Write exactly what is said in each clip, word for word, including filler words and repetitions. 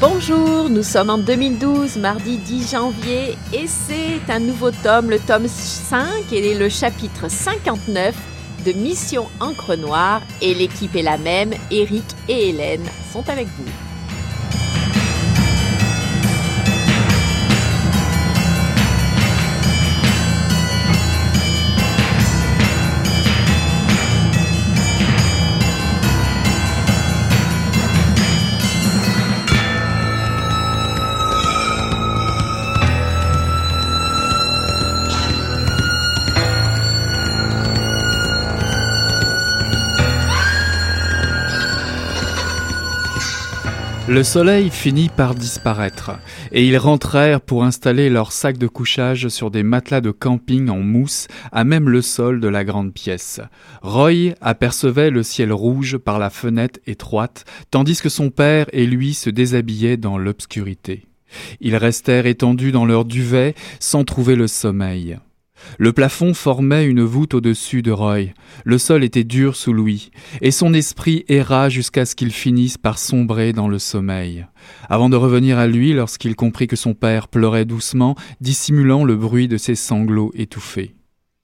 Bonjour, nous sommes en deux mille douze, mardi dix janvier, et c'est un nouveau tome, le tome cinq et le chapitre cinquante-neuf de Mission Encre Noire, et l'équipe est la même, Eric et Hélène sont avec vous. Le soleil finit par disparaître, et ils rentrèrent pour installer leurs sacs de couchage sur des matelas de camping en mousse à même le sol de la grande pièce. Roy apercevait le ciel rouge par la fenêtre étroite, tandis que son père et lui se déshabillaient dans l'obscurité. Ils restèrent étendus dans leur duvet sans trouver le sommeil. Le plafond formait une voûte au-dessus de Roy. Le sol était dur sous lui, et son esprit erra jusqu'à ce qu'il finisse par sombrer dans le sommeil, avant de revenir à lui lorsqu'il comprit que son père pleurait doucement, dissimulant le bruit de ses sanglots étouffés.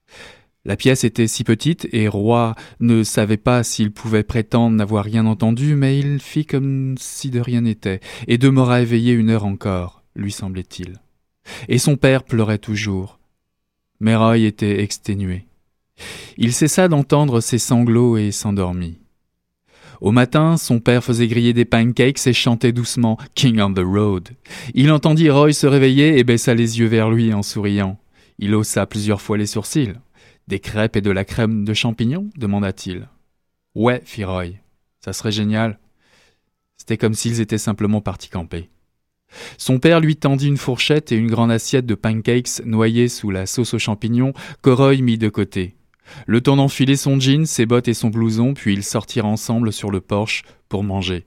La pièce était si petite, et Roy ne savait pas s'il pouvait prétendre n'avoir rien entendu, mais il fit comme si de rien n'était, et demeura éveillé une heure encore, lui semblait-il. Et son père pleurait toujours. Mais Roy était exténué. Il cessa d'entendre ses sanglots et s'endormit. Au matin, son père faisait griller des pancakes et chantait doucement « King on the Road ». Il entendit Roy se réveiller et baissa les yeux vers lui en souriant. Il haussa plusieurs fois les sourcils. « Des crêpes et de la crème de champignons ?» demanda-t-il. « Ouais, fit Roy. Ça serait génial. » C'était comme s'ils étaient simplement partis camper. Son père lui tendit une fourchette et une grande assiette de pancakes noyés sous la sauce aux champignons que Roy mit de côté. Le temps d'enfiler son jean, ses bottes et son blouson, puis ils sortirent ensemble sur le porche pour manger.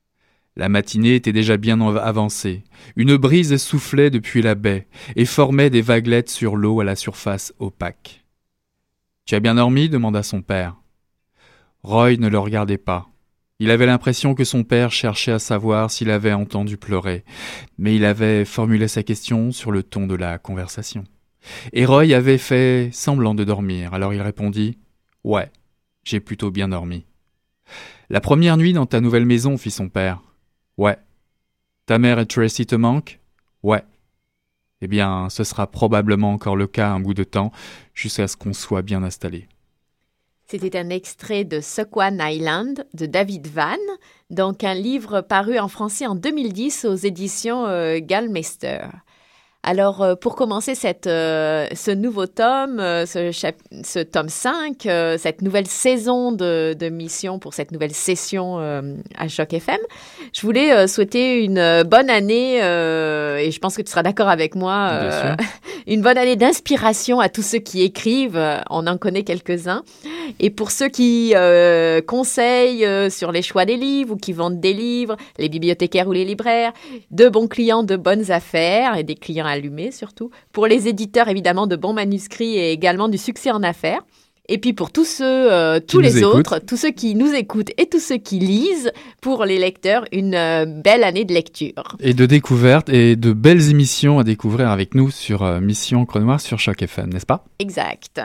La matinée était déjà bien avancée. Une brise soufflait depuis la baie et formait des vaguelettes sur l'eau à la surface opaque. « Tu as bien dormi ?» demanda son père. Roy ne le regardait pas. Il avait l'impression que son père cherchait à savoir s'il avait entendu pleurer, mais il avait formulé sa question sur le ton de la conversation. Et Roy avait fait semblant de dormir, alors il répondit « Ouais, j'ai plutôt bien dormi. »« La première nuit dans ta nouvelle maison, fit son père. »« Ouais. »« Ta mère et Tracy te manquent ? » ?»« Ouais. »« Eh bien, ce sera probablement encore le cas un bout de temps, jusqu'à ce qu'on soit bien installé. » C'était un extrait de Sequan Island de David Vann, donc un livre paru en français en deux mille dix aux éditions euh, Gallmeister. Alors, euh, pour commencer cette, euh, ce nouveau tome, euh, ce, chap- ce tome cinq, euh, cette nouvelle saison de, de mission pour cette nouvelle session euh, à Choc F M, je voulais euh, souhaiter une euh, bonne année, euh, et je pense que tu seras d'accord avec moi, euh, une bonne année d'inspiration à tous ceux qui écrivent, on en connaît quelques-uns, et pour ceux qui euh, conseillent euh, sur les choix des livres ou qui vendent des livres, les bibliothécaires ou les libraires, de bons clients, de bonnes affaires, et des clients allumé surtout, pour les éditeurs évidemment de bons manuscrits et également du succès en affaires, et puis pour tous ceux, euh, tous les autres, écoutent. tous ceux qui nous écoutent et tous ceux qui lisent, pour les lecteurs, une euh, belle année de lecture. Et de découverte et de belles émissions à découvrir avec nous sur euh, Mission Encre Noire sur Choc F M, n'est-ce pas ? Exact.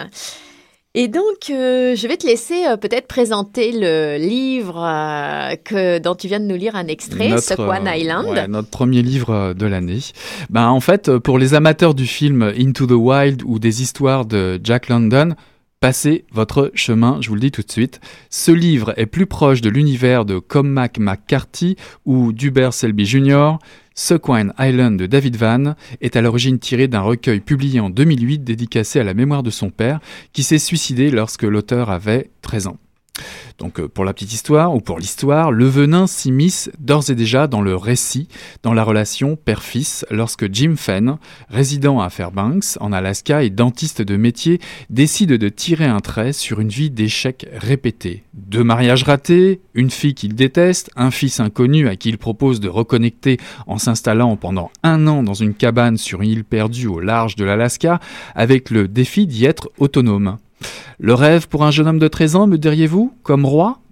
Et donc, euh, je vais te laisser euh, peut-être présenter le livre euh, que, dont tu viens de nous lire un extrait, Sequan Island. Ouais, notre premier livre de l'année. Ben, en fait, pour les amateurs du film Into the Wild ou des histoires de Jack London, passez votre chemin, je vous le dis tout de suite. Ce livre est plus proche de l'univers de Cormac McCarthy ou d'Hubert Selby junior Sequan Island de David Vann est à l'origine tiré d'un recueil publié en deux mille huit dédicacé à la mémoire de son père qui s'est suicidé lorsque l'auteur avait treize ans. Donc pour la petite histoire, ou pour l'histoire, le venin s'immisce d'ores et déjà dans le récit, dans la relation père-fils, lorsque Jim Fenn, résident à Fairbanks, en Alaska et dentiste de métier, décide de tirer un trait sur une vie d'échecs répétés. Deux mariages ratés, une fille qu'il déteste, un fils inconnu à qui il propose de reconnecter en s'installant pendant un an dans une cabane sur une île perdue au large de l'Alaska, avec le défi d'y être autonome. Le rêve pour un jeune homme de treize ans, me diriez-vous, comme Roy ?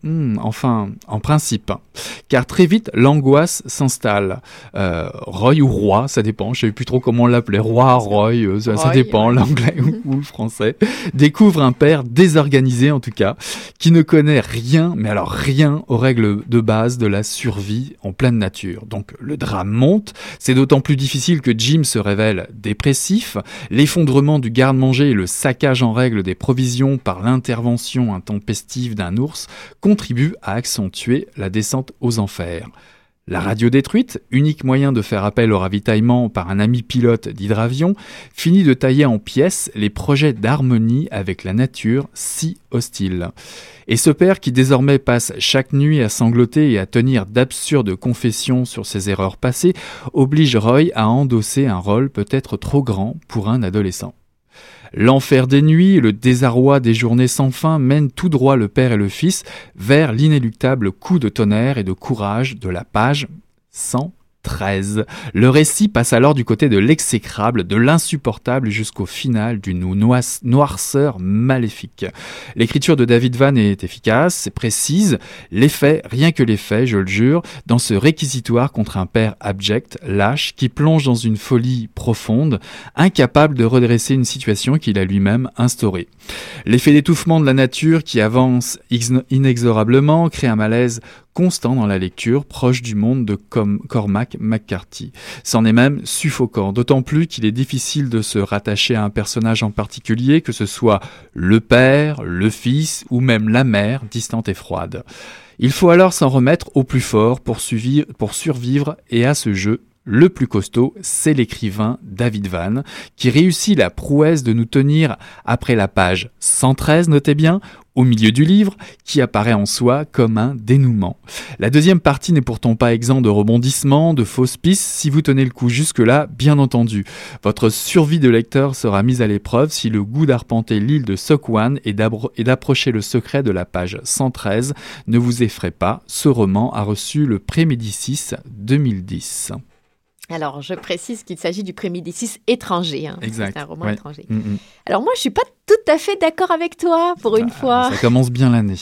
Hmm, enfin, en principe. Car très vite, l'angoisse s'installe. Euh, Roy ou Roi, ça dépend, je ne savais plus trop comment on l'appelait. Roi, Roy, euh, ça, Roy, ça dépend, ouais. L'anglais ou, ou le français. Découvre un père désorganisé en tout cas, qui ne connaît rien, mais alors rien aux règles de base de la survie en pleine nature. Donc le drame monte, c'est d'autant plus difficile que Jim se révèle dépressif. L'effondrement du garde-manger et le saccage en règle des provisions par l'intervention intempestive d'un ours contribue à accentuer la descente aux enfers. La radio détruite, unique moyen de faire appel au ravitaillement par un ami pilote d'hydravion, finit de tailler en pièces les projets d'harmonie avec la nature si hostile. Et ce père qui désormais passe chaque nuit à sangloter et à tenir d'absurdes confessions sur ses erreurs passées, oblige Roy à endosser un rôle peut-être trop grand pour un adolescent. L'enfer des nuits et le désarroi des journées sans fin mènent tout droit le père et le fils vers l'inéluctable coup de tonnerre et de courage de la page cent treize. Le récit passe alors du côté de l'exécrable, de l'insupportable jusqu'au final d'une noirceur maléfique. L'écriture de David Vann est efficace, c'est précise, les faits, rien que les faits, je le jure, dans ce réquisitoire contre un père abject, lâche, qui plonge dans une folie profonde, incapable de redresser une situation qu'il a lui-même instaurée. L'effet d'étouffement de la nature qui avance inexorablement crée un malaise constant dans la lecture, proche du monde de Com- Cormac McCarthy. C'en est même suffocant, d'autant plus qu'il est difficile de se rattacher à un personnage en particulier, que ce soit le père, le fils ou même la mère, distante et froide. Il faut alors s'en remettre au plus fort pour, suivre, pour survivre, et à ce jeu, le plus costaud, c'est l'écrivain David Vann, qui réussit la prouesse de nous tenir après la page cent treize, notez bien, au milieu du livre, qui apparaît en soi comme un dénouement. La deuxième partie n'est pourtant pas exempt de rebondissements, de fausses pistes, si vous tenez le coup jusque-là, bien entendu. Votre survie de lecteur sera mise à l'épreuve si le goût d'arpenter l'île de Sogwan et, et d'approcher le secret de la page cent treize ne vous effraie pas. Ce roman a reçu le Prix Médicis deux mille dix. Alors, je précise qu'il s'agit du Prix Médicis étranger. Hein. Exact. C'est un roman ouais. étranger. Mm-hmm. Alors, moi, je ne suis pas tout à fait d'accord avec toi, pour une bah, fois. Ça commence bien l'année.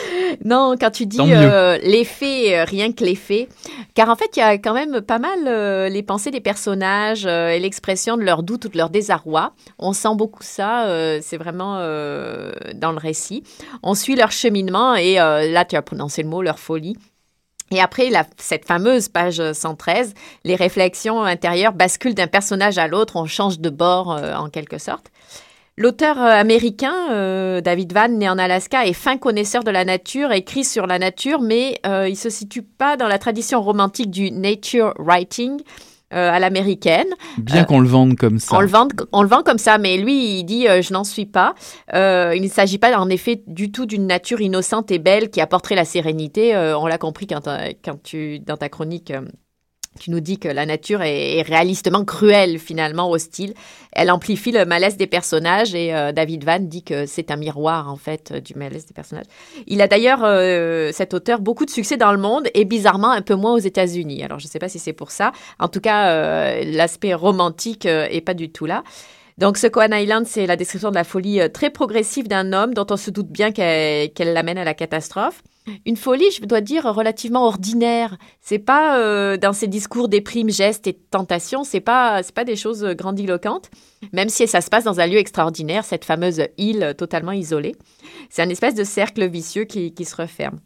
Non, quand tu dis euh, les faits, euh, rien que les faits. Car en fait, il y a quand même pas mal euh, les pensées des personnages euh, et l'expression de leurs doutes ou de leur désarroi. On sent beaucoup ça, euh, c'est vraiment euh, dans le récit. On suit leur cheminement et euh, là, tu as prononcé le mot, leur folie. Et après, la, cette fameuse page cent treize, les réflexions intérieures basculent d'un personnage à l'autre, on change de bord euh, en quelque sorte. L'auteur euh, américain, euh, David Vann, né en Alaska, est fin connaisseur de la nature, écrit sur la nature, mais euh, il ne se situe pas dans la tradition romantique du nature writing, Euh, à l'américaine. Bien euh, qu'on le vende comme ça. On le vend, on le vend comme ça, mais lui, il dit euh, « je n'en suis pas euh, ». Il ne s'agit pas en effet du tout d'une nature innocente et belle qui apporterait la sérénité. Euh, on l'a compris quand, quand tu, dans ta chronique, euh, tu nous dis que la nature est, est réalistement cruelle, finalement, hostile. Elle amplifie le malaise des personnages et euh, David Vann dit que c'est un miroir, en fait, du malaise des personnages. Il a d'ailleurs, euh, cet auteur, beaucoup de succès dans le monde et bizarrement un peu moins aux États-Unis. Alors, je ne sais pas si c'est pour ça. En tout cas, euh, l'aspect romantique euh, est pas du tout là. Donc, Sogwan Island, c'est la description de la folie euh, très progressive d'un homme dont on se doute bien qu'elle, qu'elle l'amène à la catastrophe. Une folie, je dois dire, relativement ordinaire. C'est pas euh, dans ses discours déprimes, gestes et tentations, c'est pas c'est pas des choses grandiloquentes, même si ça se passe dans un lieu extraordinaire, cette fameuse île totalement isolée. C'est un espèce de cercle vicieux qui, qui se referme.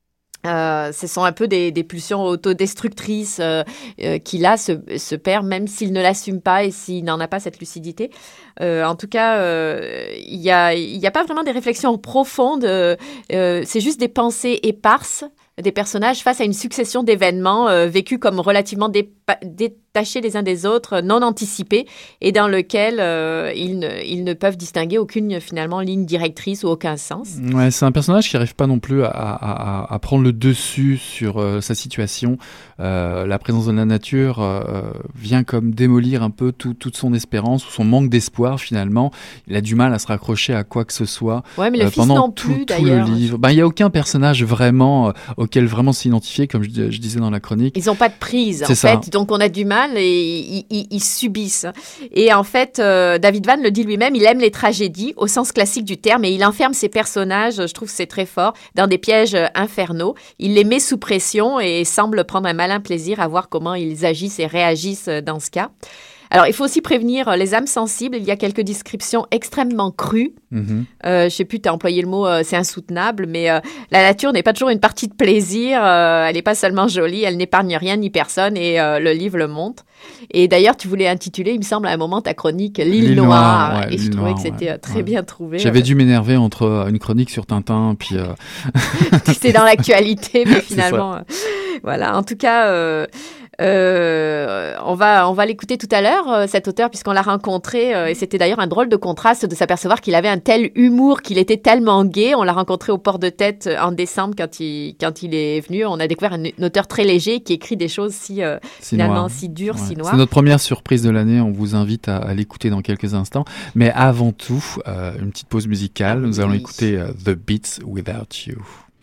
Euh, ce sont un peu des, des pulsions autodestructrices euh, euh, qu'il a, ce, ce père, même s'il ne l'assume pas et s'il n'en a pas cette lucidité. Euh, en tout cas, euh, il n'y a, y a pas vraiment des réflexions profondes, euh, euh, c'est juste des pensées éparses des personnages face à une succession d'événements euh, vécus comme relativement dépa- détachés les uns des autres, non anticipés, et dans lequel euh, ils, ne, ils ne peuvent distinguer aucune, finalement, ligne directrice ou aucun sens. Ouais, c'est un personnage qui n'arrive pas non plus à, à, à prendre le dessus sur euh, sa situation. Euh, la présence de la nature euh, vient comme démolir un peu tout, toute son espérance ou son manque d'espoir, finalement. Il a du mal à se raccrocher à quoi que ce soit. Ouais, mais le euh, fils pendant non tout, plus, tout d'ailleurs. le livre. Ben, il n'y a aucun personnage vraiment... Euh, auquel vraiment s'identifier, comme je, je disais dans la chronique. Ils n'ont pas de prise, c'est en ça. fait. Ils donc on a du mal et ils, ils, ils subissent. Et en fait, euh, David Vann le dit lui-même, il aime les tragédies au sens classique du terme et il enferme ses personnages, je trouve que c'est très fort, dans des pièges infernaux. Il les met sous pression et semble prendre un malin plaisir à voir comment ils agissent et réagissent dans ce cas. Alors, il faut aussi prévenir les âmes sensibles. Il y a quelques descriptions extrêmement crues. Mm-hmm. Euh, je ne sais plus, tu as employé le mot, euh, c'est insoutenable, mais euh, la nature n'est pas toujours une partie de plaisir. Euh, elle n'est pas seulement jolie, elle n'épargne rien ni personne et euh, le livre le montre. Et d'ailleurs, tu voulais intituler, il me semble, à un moment, ta chronique « L'île, L'île Noire ». Noire ouais, et je trouvais Noire, que c'était ouais, très ouais. bien trouvé. J'avais dû m'énerver entre une chronique sur Tintin, puis... Euh... C'était dans l'actualité, mais finalement... Euh, voilà, en tout cas... Euh, Euh, on va on va l'écouter tout à l'heure, euh, cet auteur, puisqu'on l'a rencontré euh, et c'était d'ailleurs un drôle de contraste de s'apercevoir qu'il avait un tel humour, qu'il était tellement gai. On l'a rencontré au Port de Tête en décembre quand il quand il est venu. On a découvert un, un auteur très léger qui écrit des choses si euh, finalement noir. si dures, ouais. si noires. C'est notre première surprise de l'année. On vous invite à, à l'écouter dans quelques instants. Mais avant tout, euh, une petite pause musicale. Nous allons oui. écouter uh, The Beats Without You.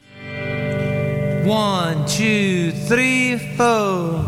One, two, three, four.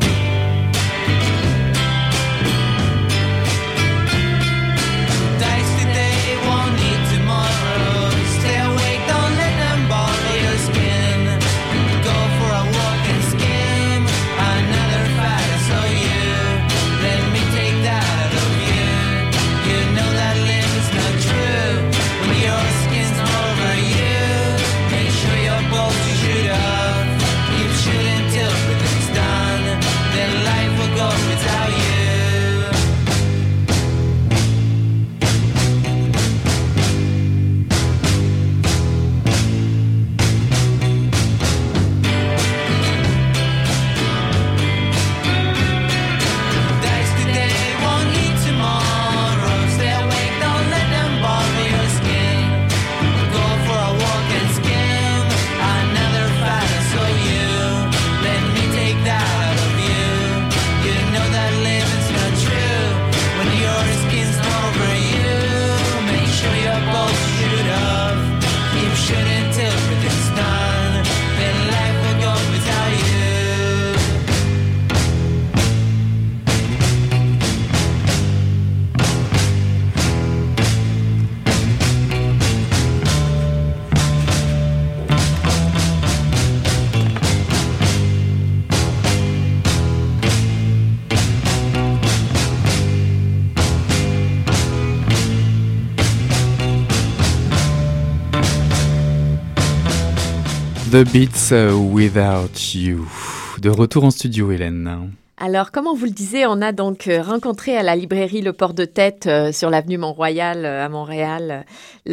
The Beats Without You. De retour en studio, Hélène. Alors, comme on vous le disait, on a donc rencontré à la librairie Le Port de Tête euh, sur l'avenue Mont-Royal euh, à Montréal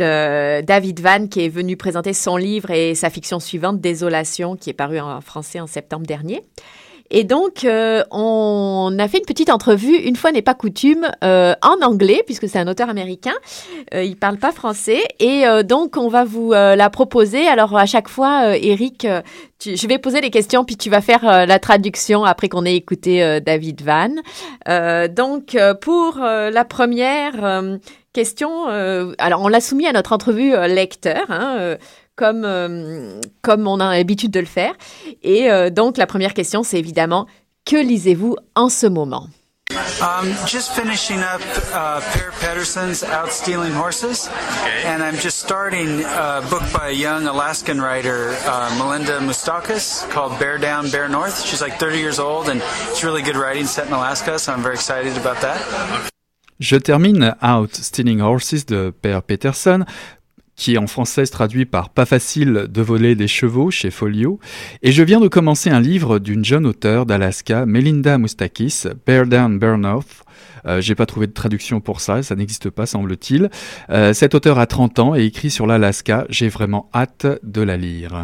le David Vann qui est venu présenter son livre et sa fiction suivante, Désolation, qui est paru en français en septembre dernier. Et donc, euh, on a fait une petite entrevue, une fois n'est pas coutume, euh, en anglais, puisque c'est un auteur américain. Euh, il parle pas français. Et euh, donc, on va vous euh, la proposer. Alors, à chaque fois, euh, Eric, euh, tu, je vais poser les questions, puis tu vas faire euh, la traduction après qu'on ait écouté euh, David Vann. Euh, donc, euh, pour euh, la première euh, question, euh, alors on l'a soumis à notre entrevue euh, lecteur, hein, euh, Comme, euh, comme on a l'habitude de le faire. Et euh, donc, la première question, c'est évidemment, que lisez-vous en ce moment? Um, just finishing up uh, Per Pedersen's Out Stealing Horses, okay. And I'm just starting a book by a young Alaskan writer, uh, Melinda Moustakis, called Bear Down, Bear North. She's like thirty years old, and it's really good writing set in Alaska, so I'm very excited about that. Je termine Out Stealing Horses de Per Pedersen, qui en français se traduit par « Pas facile de voler des chevaux » chez Folio. Et je viens de commencer un livre d'une jeune auteure d'Alaska, Melinda Moustakis, « Bear Down, Bear North ». Euh, j'ai pas trouvé de traduction pour ça, ça n'existe pas semble-t-il. Euh, cette auteure a trente ans et écrit sur l'Alaska. J'ai vraiment hâte de la lire.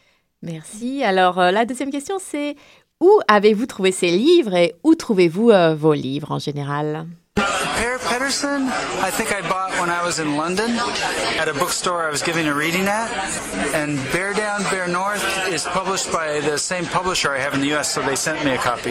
Merci. Alors euh, la deuxième question, c'est où avez-vous trouvé ces livres et où trouvez-vous euh, vos livres en général? Per Pedersen, I think I bought when I was in London at a bookstore I was giving a reading at. And Bear Down, Bear North is published by the same publisher I have in the U S, so they sent me a copy.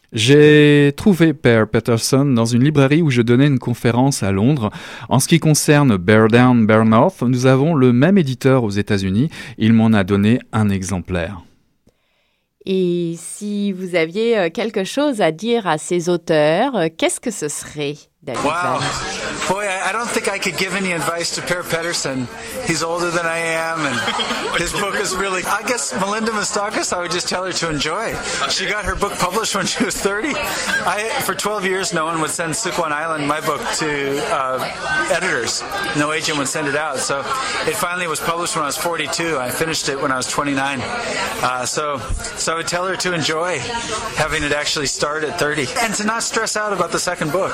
J'ai trouvé Per Pedersen dans une librairie où je donnais une conférence à Londres. En ce qui concerne Bear Down, Bear North, nous avons le même éditeur aux États-Unis. Il m'en a donné un exemplaire. Et si vous aviez quelque chose à dire à ces auteurs, qu'est-ce que ce serait, David Wow. Vann? Boy, I I don't think I could give any advice to Per Pedersen. He's older than I am, and his book is really... I guess Melinda Moustakis, I would just tell her to enjoy. She got her book published when she was thirty. I, for twelve years, no one would send Sukwan Island, my book, to uh, editors. No agent would send it out. So it finally was published when I was forty-two. I finished it when I was twenty-nine. Uh, so, so I would tell her to enjoy having it actually start at thirty and to not stress out about the second book.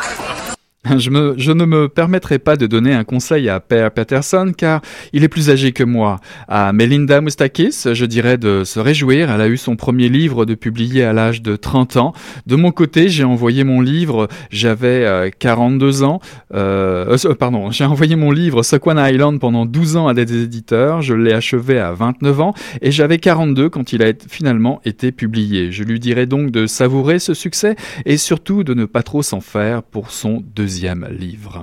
Je, me, je ne me permettrai pas de donner un conseil à Per Pedersen car il est plus âgé que moi. À Melinda Moustakis, je dirais de se réjouir. Elle a eu son premier livre de publié à l'âge de trente ans. De mon côté, j'ai envoyé mon livre, j'avais euh, quarante-deux ans. Euh, euh, pardon, j'ai envoyé mon livre Sukwan Island pendant douze ans à des éditeurs. Je l'ai achevé à vingt-neuf ans et j'avais quarante-deux quand il a finalement été publié. Je lui dirais donc de savourer ce succès et surtout de ne pas trop s'en faire pour son deuxième livre.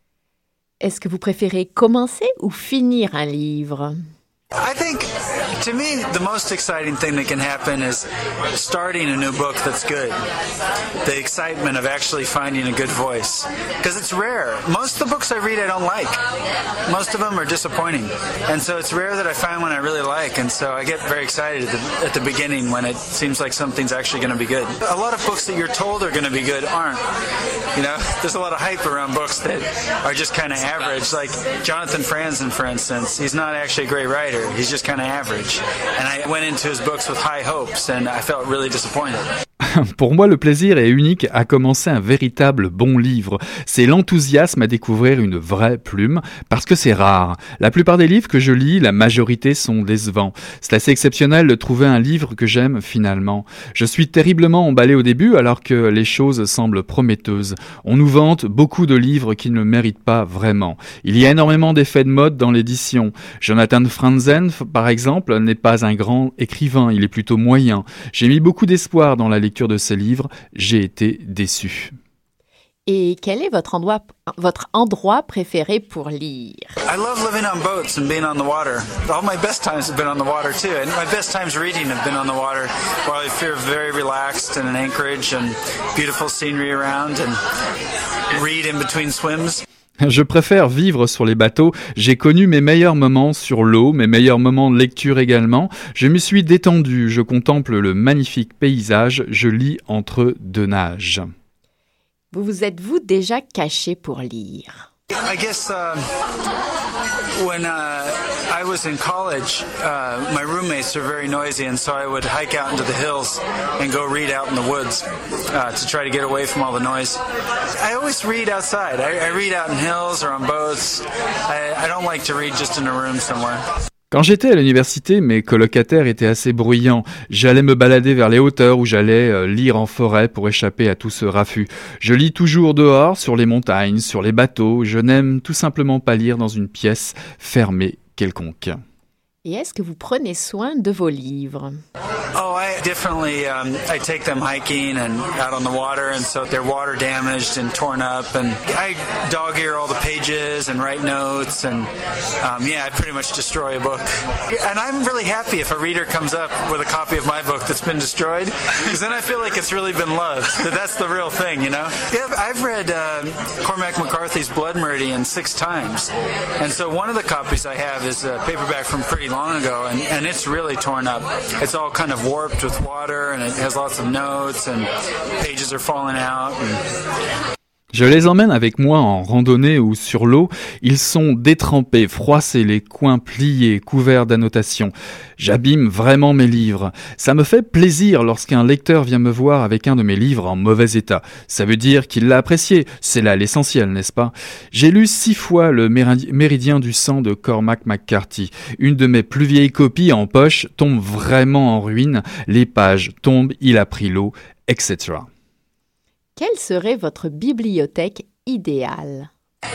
Est-ce que vous préférez commencer ou finir un livre? I think, to me, the most exciting thing that can happen is starting a new book that's good. The excitement of actually finding a good voice. Because it's rare. Most of the books I read I don't like. Most of them are disappointing. And so it's rare that I find one I really like. And so I get very excited at the, at the beginning when it seems like something's actually going to be good. A lot of books that you're told are going to be good aren't. You know, there's a lot of hype around books that are just kind of average. Like Jonathan Franzen, for instance, he's not actually a great writer. He's just kind of average. And I went into his books with high hopes and I felt really disappointed. Pour moi, le plaisir est unique à commencer un véritable bon livre. C'est l'enthousiasme à découvrir une vraie plume, parce que c'est rare. La plupart des livres que je lis, la majorité sont décevants. C'est assez exceptionnel de trouver un livre que j'aime finalement. Je suis terriblement emballé au début, alors que les choses semblent prometteuses. On nous vante beaucoup de livres qui ne méritent pas vraiment. Il y a énormément d'effets de mode dans l'édition. Jonathan Franzen, par exemple, n'est pas un grand écrivain, il est plutôt moyen. J'ai mis beaucoup d'espoir dans la lecture de ces livres, j'ai été déçu. Et quel est votre endroit, votre endroit préféré pour lire? I love living on boats and being on the water. All my best times have been on the water too, and my best times reading have been on the water, where I feel very relaxed and an anchorage and beautiful scenery around and read in between swims. Je préfère vivre sur les bateaux. J'ai connu mes meilleurs moments sur l'eau, mes meilleurs moments de lecture également. Je me suis détendu, je contemple le magnifique paysage, je lis entre deux nages. Vous vous êtes-vous déjà caché pour lire? I guess uh, when uh, I was in college, uh, my roommates were very noisy, and so I would hike out into the hills and go read out in the woods uh, to try to get away from all the noise. I always read outside. I, I read out in hills or on boats. I, I don't like to read just in a room somewhere. Quand j'étais à l'université, mes colocataires étaient assez bruyants. J'allais me balader vers les hauteurs ou j'allais euh, lire en forêt pour échapper à tout ce raffut. Je lis toujours dehors, sur les montagnes, sur les bateaux. Je n'aime tout simplement pas lire dans une pièce fermée quelconque. Et est-ce que vous prenez soin de vos livres? Oh, I definitely, um, I take them hiking and out on the water, and so they're water damaged and torn up, and I dog ear all the pages and write notes, and um, yeah, I pretty much destroy a book. And I'm really happy if a reader comes up with a copy of my book that's been destroyed, because then I feel like it's really been loved. That that's the real thing, you know? Yeah, I've read uh, Cormac McCarthy's Blood Meridian six times, and so one of the copies I have is a paperback from pretty long ago, and, and it's really torn up. It's all kind of warped with water, and it has lots of notes, and pages are falling out. And... Je les emmène avec moi en randonnée ou sur l'eau. Ils sont détrempés, froissés, les coins pliés, couverts d'annotations. J'abîme vraiment mes livres. Ça me fait plaisir lorsqu'un lecteur vient me voir avec un de mes livres en mauvais état. Ça veut dire qu'il l'a apprécié. C'est là l'essentiel, n'est-ce pas? J'ai lu six fois le Méridien du sang de Cormac McCarthy. Une de mes plus vieilles copies en poche tombe vraiment en ruine. Les pages tombent, il a pris l'eau, et cetera. Quelle serait votre bibliothèque idéale?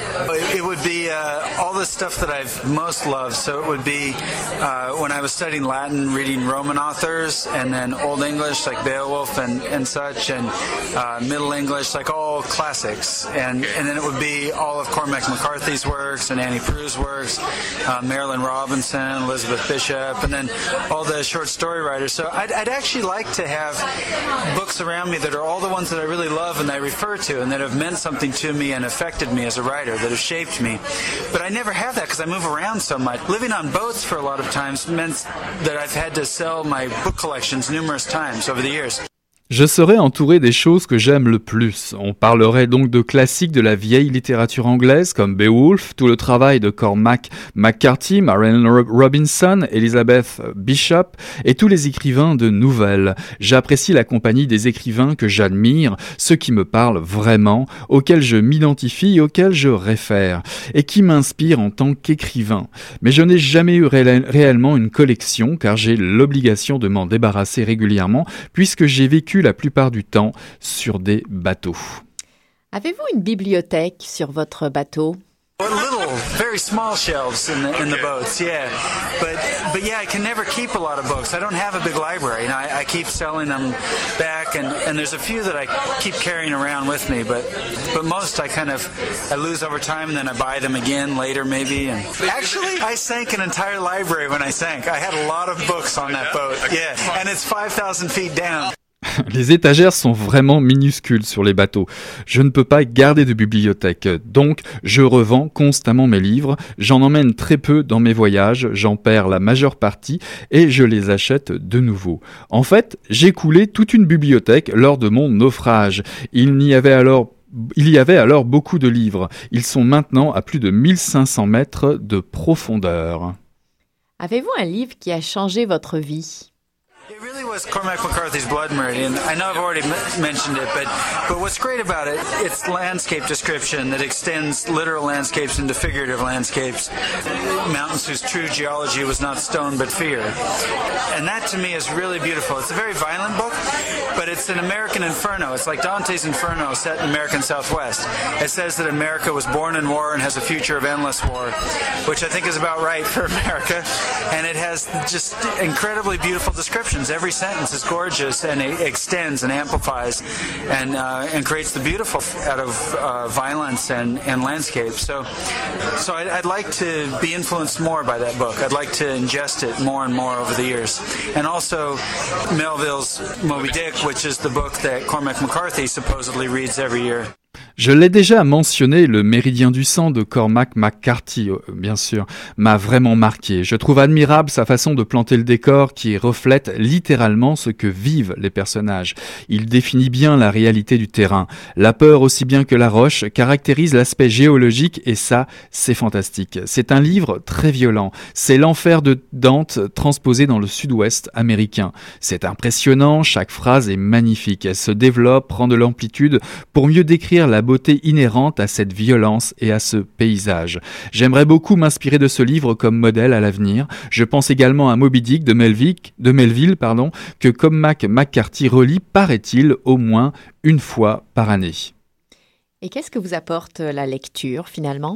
it would be uh, all the stuff that I've most loved. So it would be uh, when I was studying Latin, reading Roman authors, and then Old English like Beowulf and, and such, and uh, Middle English like all classics. And, and then it would be all of Cormac McCarthy's works and Annie Proulx's works, uh, Marilyn Robinson, Elizabeth Bishop, and then all the short story writers. So I'd, I'd actually like to have books around me that are all the ones that I really love and I refer to and that have meant something to me and affected me as a writer, that have shaped me. But I never have that because I move around so much. Living on boats for a lot of times meant that I've had to sell my book collections numerous times over the years. Je serais entouré des choses que j'aime le plus. On parlerait donc de classiques de la vieille littérature anglaise comme Beowulf, tout le travail de Cormac McCarthy, Marilyn Robinson, Elizabeth Bishop et tous les écrivains de nouvelles. J'apprécie la compagnie des écrivains que j'admire, ceux qui me parlent vraiment, auxquels je m'identifie et auxquels je réfère, et qui m'inspirent en tant qu'écrivain. Mais je n'ai jamais eu ré- réellement une collection car j'ai l'obligation de m'en débarrasser régulièrement puisque j'ai vécu la plupart du temps sur des bateaux. Avez-vous une bibliothèque sur votre bateau? Little, very small shelves in the in the boats, yeah. But but yeah, I can never keep a lot of books. I don't have a big library, and I, I keep selling them back. And, and there's a few that I keep carrying around with me, but but most I kind of I lose over time, and then I buy them again later, maybe. And actually, I sank an entire library when I sank. I had a lot of books on that boat, yeah, and it's five thousand feet down. Les étagères sont vraiment minuscules sur les bateaux. Je ne peux pas garder de bibliothèque, donc je revends constamment mes livres. J'en emmène très peu dans mes voyages, j'en perds la majeure partie et je les achète de nouveau. En fait, j'ai coulé toute une bibliothèque lors de mon naufrage. Il n'y avait alors Il y avait alors beaucoup de livres. Ils sont maintenant à plus de mille cinq cents mètres de profondeur. Avez-vous un livre qui a changé votre vie? It really was Cormac McCarthy's Blood Meridian. I know I've already m- mentioned it, but but what's great about it, it's landscape description that extends literal landscapes into figurative landscapes, mountains whose true geology was not stone but fear. And that to me is really beautiful. It's a very violent book, but it's an American inferno. It's like Dante's Inferno set in American Southwest. It says that America was born in war and has a future of endless war, which I think is about right for America. And it has just incredibly beautiful descriptions. Every sentence is gorgeous and it extends and amplifies and uh, and creates the beautiful out of uh, violence and, and landscape. So, so I'd, I'd like to be influenced more by that book. I'd like to ingest it more and more over the years. And also Melville's Moby Dick, which is the book that Cormac McCarthy supposedly reads every year. Je l'ai déjà mentionné, le Méridien du sang de Cormac McCarthy, bien sûr, m'a vraiment marqué. Je trouve admirable sa façon de planter le décor qui reflète littéralement ce que vivent les personnages. Il définit bien la réalité du terrain. La peur aussi bien que la roche caractérise l'aspect géologique et ça, c'est fantastique. C'est un livre très violent. C'est l'enfer de Dante transposé dans le sud-ouest américain. C'est impressionnant, chaque phrase est magnifique. Elle se développe, prend de l'amplitude pour mieux décrire la beauté inhérente à cette violence et à ce paysage. J'aimerais beaucoup m'inspirer de ce livre comme modèle à l'avenir. Je pense également à Moby Dick de Melville, de Melville pardon, que Cormac McCarthy relit, paraît-il, au moins une fois par année. Et qu'est-ce que vous apporte la lecture finalement?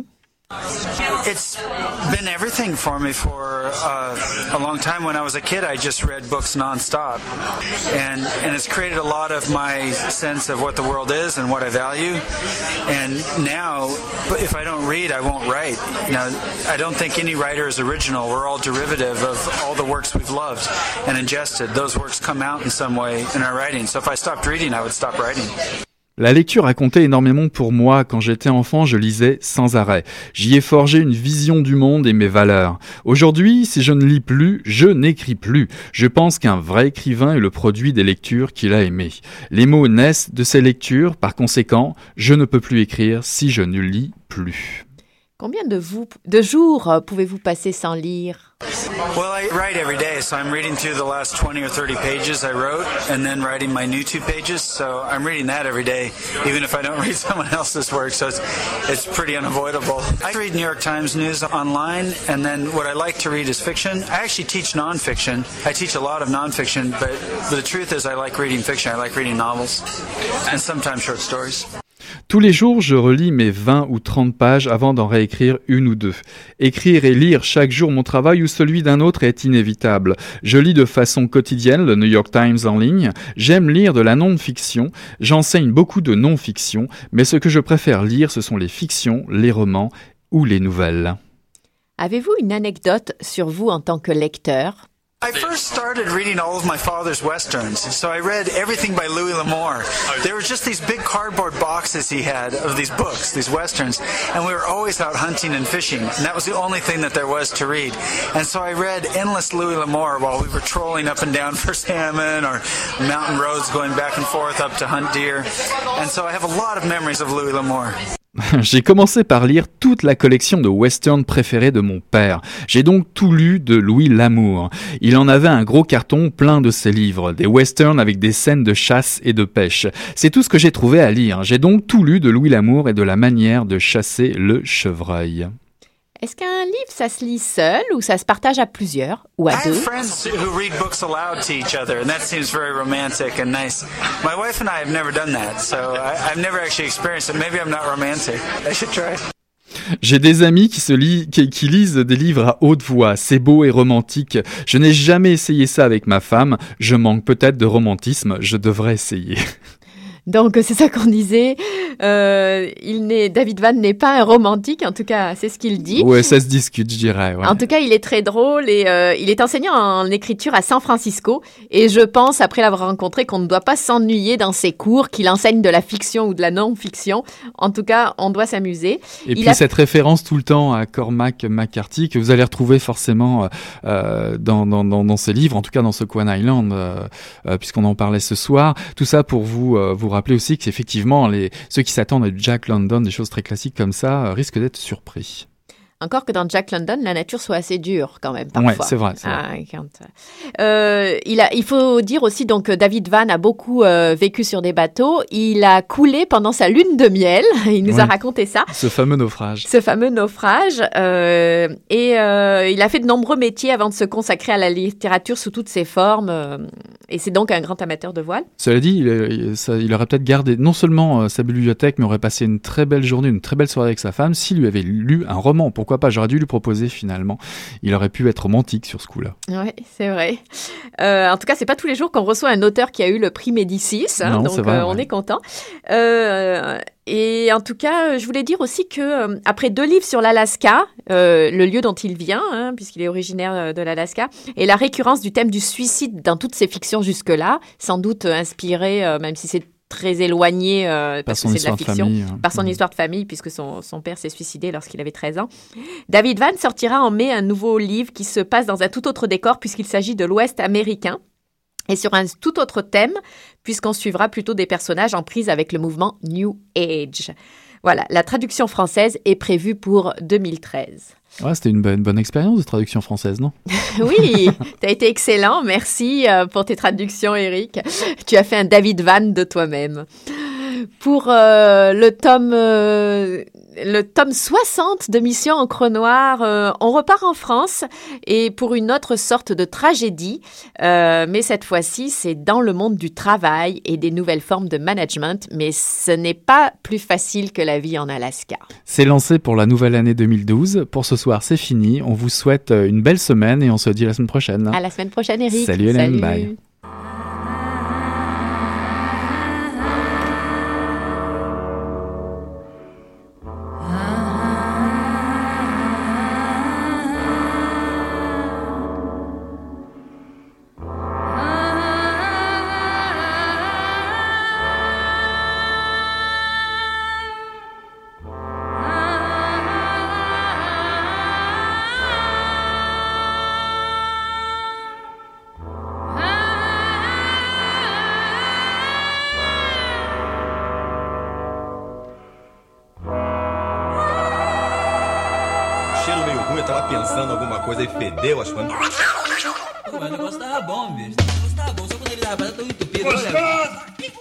It's been everything for me for uh, a long time. When I was a kid, I just read books nonstop, and and it's created a lot of my sense of what the world is and what I value. And now, if I don't read, I won't write. You know, I don't think any writer is original. We're all derivative of all the works we've loved and ingested. Those works come out in some way in our writing. So if I stopped reading, I would stop writing. La lecture a compté énormément pour moi. Quand j'étais enfant, je lisais sans arrêt. J'y ai forgé une vision du monde et mes valeurs. Aujourd'hui, si je ne lis plus, je n'écris plus. Je pense qu'un vrai écrivain est le produit des lectures qu'il a aimées. Les mots naissent de ces lectures, par conséquent, je ne peux plus écrire si je ne lis plus. Combien de, vous, de jours pouvez-vous passer sans lire? Well, I write every day, so I'm reading through the last twenty or thirty pages I wrote, and then writing my new two pages, so I'm reading that every day, even if I don't read someone else's work, so it's, it's pretty unavoidable. I read New York Times news online, and then what I like to read is fiction. I actually teach nonfiction. I teach a lot of nonfiction, but, but the truth is I like reading fiction. I like reading novels, and sometimes short stories. Tous les jours, je relis mes vingt ou trente pages avant d'en réécrire une ou deux. Écrire et lire chaque jour mon travail ou celui d'un autre est inévitable. Je lis de façon quotidienne le New York Times en ligne. J'aime lire de la non-fiction. J'enseigne beaucoup de non-fiction, mais ce que je préfère lire, ce sont les fictions, les romans ou les nouvelles. Avez-vous une anecdote sur vous en tant que lecteur? I first started reading all of my father's westerns, so I read everything by Louis L'Amour. There were just these big cardboard boxes he had of these books, these westerns, and we were always out hunting and fishing, and that was the only thing that there was to read. And so I read endless Louis L'Amour while we were trolling up and down for salmon or mountain roads going back and forth up to hunt deer. And so I have a lot of memories of Louis L'Amour. J'ai commencé par lire toute la collection de westerns préférés de mon père. J'ai donc tout lu de Louis L'Amour. Il en avait un gros carton plein de ses livres, des westerns avec des scènes de chasse et de pêche. C'est tout ce que j'ai trouvé à lire. J'ai donc tout lu de Louis L'Amour et de la manière de chasser le chevreuil. Est-ce qu'un livre, ça se lit seul ou ça se partage à plusieurs ou à I deux? have friends who read books aloud to each other, and that seems very romantic and nice. My wife and I have never done that, so I, I've never actually experienced it. Maybe I'm not romantic. I should try. J'ai des amis qui, se lit, qui, qui lisent des livres à haute voix. C'est beau et romantique. Je n'ai jamais essayé ça avec ma femme. Je manque peut-être de romantisme. Je devrais essayer. Donc c'est ça qu'on disait. Euh, il n'est, David Vann n'est pas un romantique, en tout cas c'est ce qu'il dit. Ouais, ça se discute, je dirais. Ouais. En tout cas, il est très drôle et euh, il est enseignant en écriture à San Francisco. Et je pense, après l'avoir rencontré, qu'on ne doit pas s'ennuyer dans ses cours, qu'il enseigne de la fiction ou de la non-fiction. En tout cas, on doit s'amuser. Et il puis a... cette référence tout le temps à Cormac McCarthy que vous allez retrouver forcément euh, dans, dans, dans, dans ses livres, en tout cas dans Sequan Island, euh, euh, puisqu'on en parlait ce soir. Tout ça pour vous euh, vous rappeler aussi qu'effectivement, les, ceux qui s'attendent à Jack London, des choses très classiques comme ça, euh, risquent d'être surpris. Encore que dans Jack London, la nature soit assez dure quand même parfois. Ouais, c'est vrai. C'est ah, vrai. Quand... Euh, il, a, il faut dire aussi donc David Vann a beaucoup euh, vécu sur des bateaux. Il a coulé pendant sa lune de miel. Il nous ouais. a raconté ça. Ce fameux naufrage. Ce fameux naufrage. Euh, et euh, il a fait de nombreux métiers avant de se consacrer à la littérature sous toutes ses formes. Euh, et c'est donc un grand amateur de voile. Cela dit, il, il, ça, il aurait peut-être gardé non seulement euh, sa bibliothèque, mais aurait passé une très belle journée, une très belle soirée avec sa femme s'il lui avait lu un roman. Pourquoi pas? J'aurais dû lui proposer finalement. Il aurait pu être romantique sur ce coup-là. Oui, c'est vrai. Euh, en tout cas, c'est pas tous les jours qu'on reçoit un auteur qui a eu le prix Médicis, hein, non, donc c'est vrai, euh, on ouais. est content. Euh, et en tout cas, je voulais dire aussi que euh, après deux livres sur l'Alaska, euh, le lieu dont il vient, hein, puisqu'il est originaire de l'Alaska, et la récurrence du thème du suicide dans toutes ses fictions jusque-là, sans doute inspiré, euh, même si c'est très éloigné euh, parce que c'est de la fiction, famille, hein. par son mmh. histoire de famille, puisque son, son père s'est suicidé lorsqu'il avait treize ans. David Vann sortira en mai un nouveau livre qui se passe dans un tout autre décor, puisqu'il s'agit de l'Ouest américain, et sur un tout autre thème, puisqu'on suivra plutôt des personnages en prise avec le mouvement New Age. Voilà, la traduction française est prévue pour deux mille treize. Ouais, c'était une bonne, bonne expérience de traduction française, non? Oui, tu as été excellent. Merci pour tes traductions, Eric. Tu as fait un David Vann de toi-même. Pour euh, le tome euh, le tome soixante de Mission Encre Noire, euh, on repart en France et pour une autre sorte de tragédie, euh, mais cette fois-ci c'est dans le monde du travail et des nouvelles formes de management, mais ce n'est pas plus facile que la vie en Alaska. C'est lancé pour la nouvelle année deux mille douze. Pour ce soir, c'est fini. On vous souhaite une belle semaine et on se dit à la semaine prochaine. À la semaine prochaine, Eric. Salut Hélène, Salut. bye. Pensando alguma coisa e fedeu as coisas. Pô, mas o negócio tava bom, bicho. O negócio tava bom, só quando ele tava rapaz, tão entupido. Gostoso!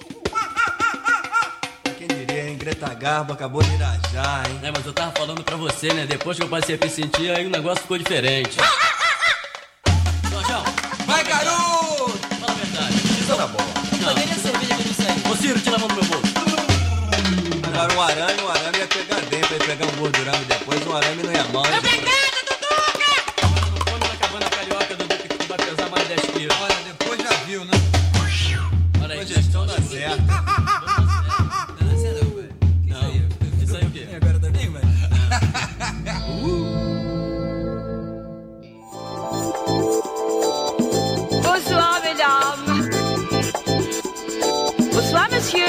Quem diria, hein? Greta Garbo acabou de irajar, hein? É, mas eu tava falando pra você, né? Depois que eu passei a me sentir, aí o negócio ficou diferente. Jorjão! Vai, garoto! Fala a verdade. Isso tá bom. Não, cadê a cerveja que eu me serve? Ô, Ciro, tira a mão do meu bolso. Era um arame, o arame ia pegar dentro, ia pegar um gordurame depois, o arame não ia mal. Obrigada, Duduca! Não come na cabana carioca, Duduca, que vai pesar mais dez quilos. Olha, depois já viu, né? Olha aí, Depois gestão dá certo. Não dá certo, não, velho. Não, isso aí é o quê? Agora também, velho? Bonsoir, mesdames. Bonsoir, monsieur.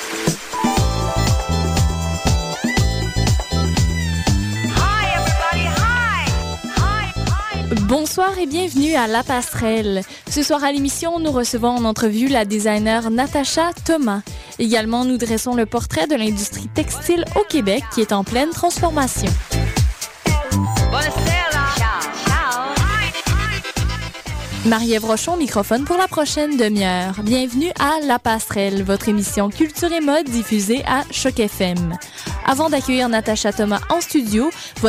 Hi, everybody. Hi. Hi, hi. Bonsoir et bienvenue à La Passerelle. Ce soir à l'émission, nous recevons en entrevue la designer Natacha Thomas. Également, nous dressons le portrait de l'industrie textile au Québec qui est en pleine transformation. Buonasera. Ciao. Ciao. Marie-Ève Rochon, microphone pour la prochaine demi-heure. Bienvenue à La Passerelle, votre émission culture et mode diffusée à Choc F M. Avant d'accueillir Natacha Thomas en studio,